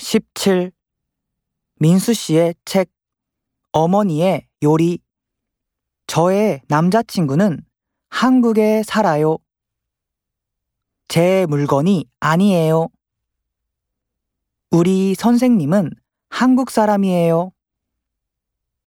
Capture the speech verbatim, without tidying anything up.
십칠. 민수 씨의 책 어머니의 요리. 저의 남자친구는 한국에 살아요. 제 물건이 아니에요. 우리 선생님은 한국 사람이에요.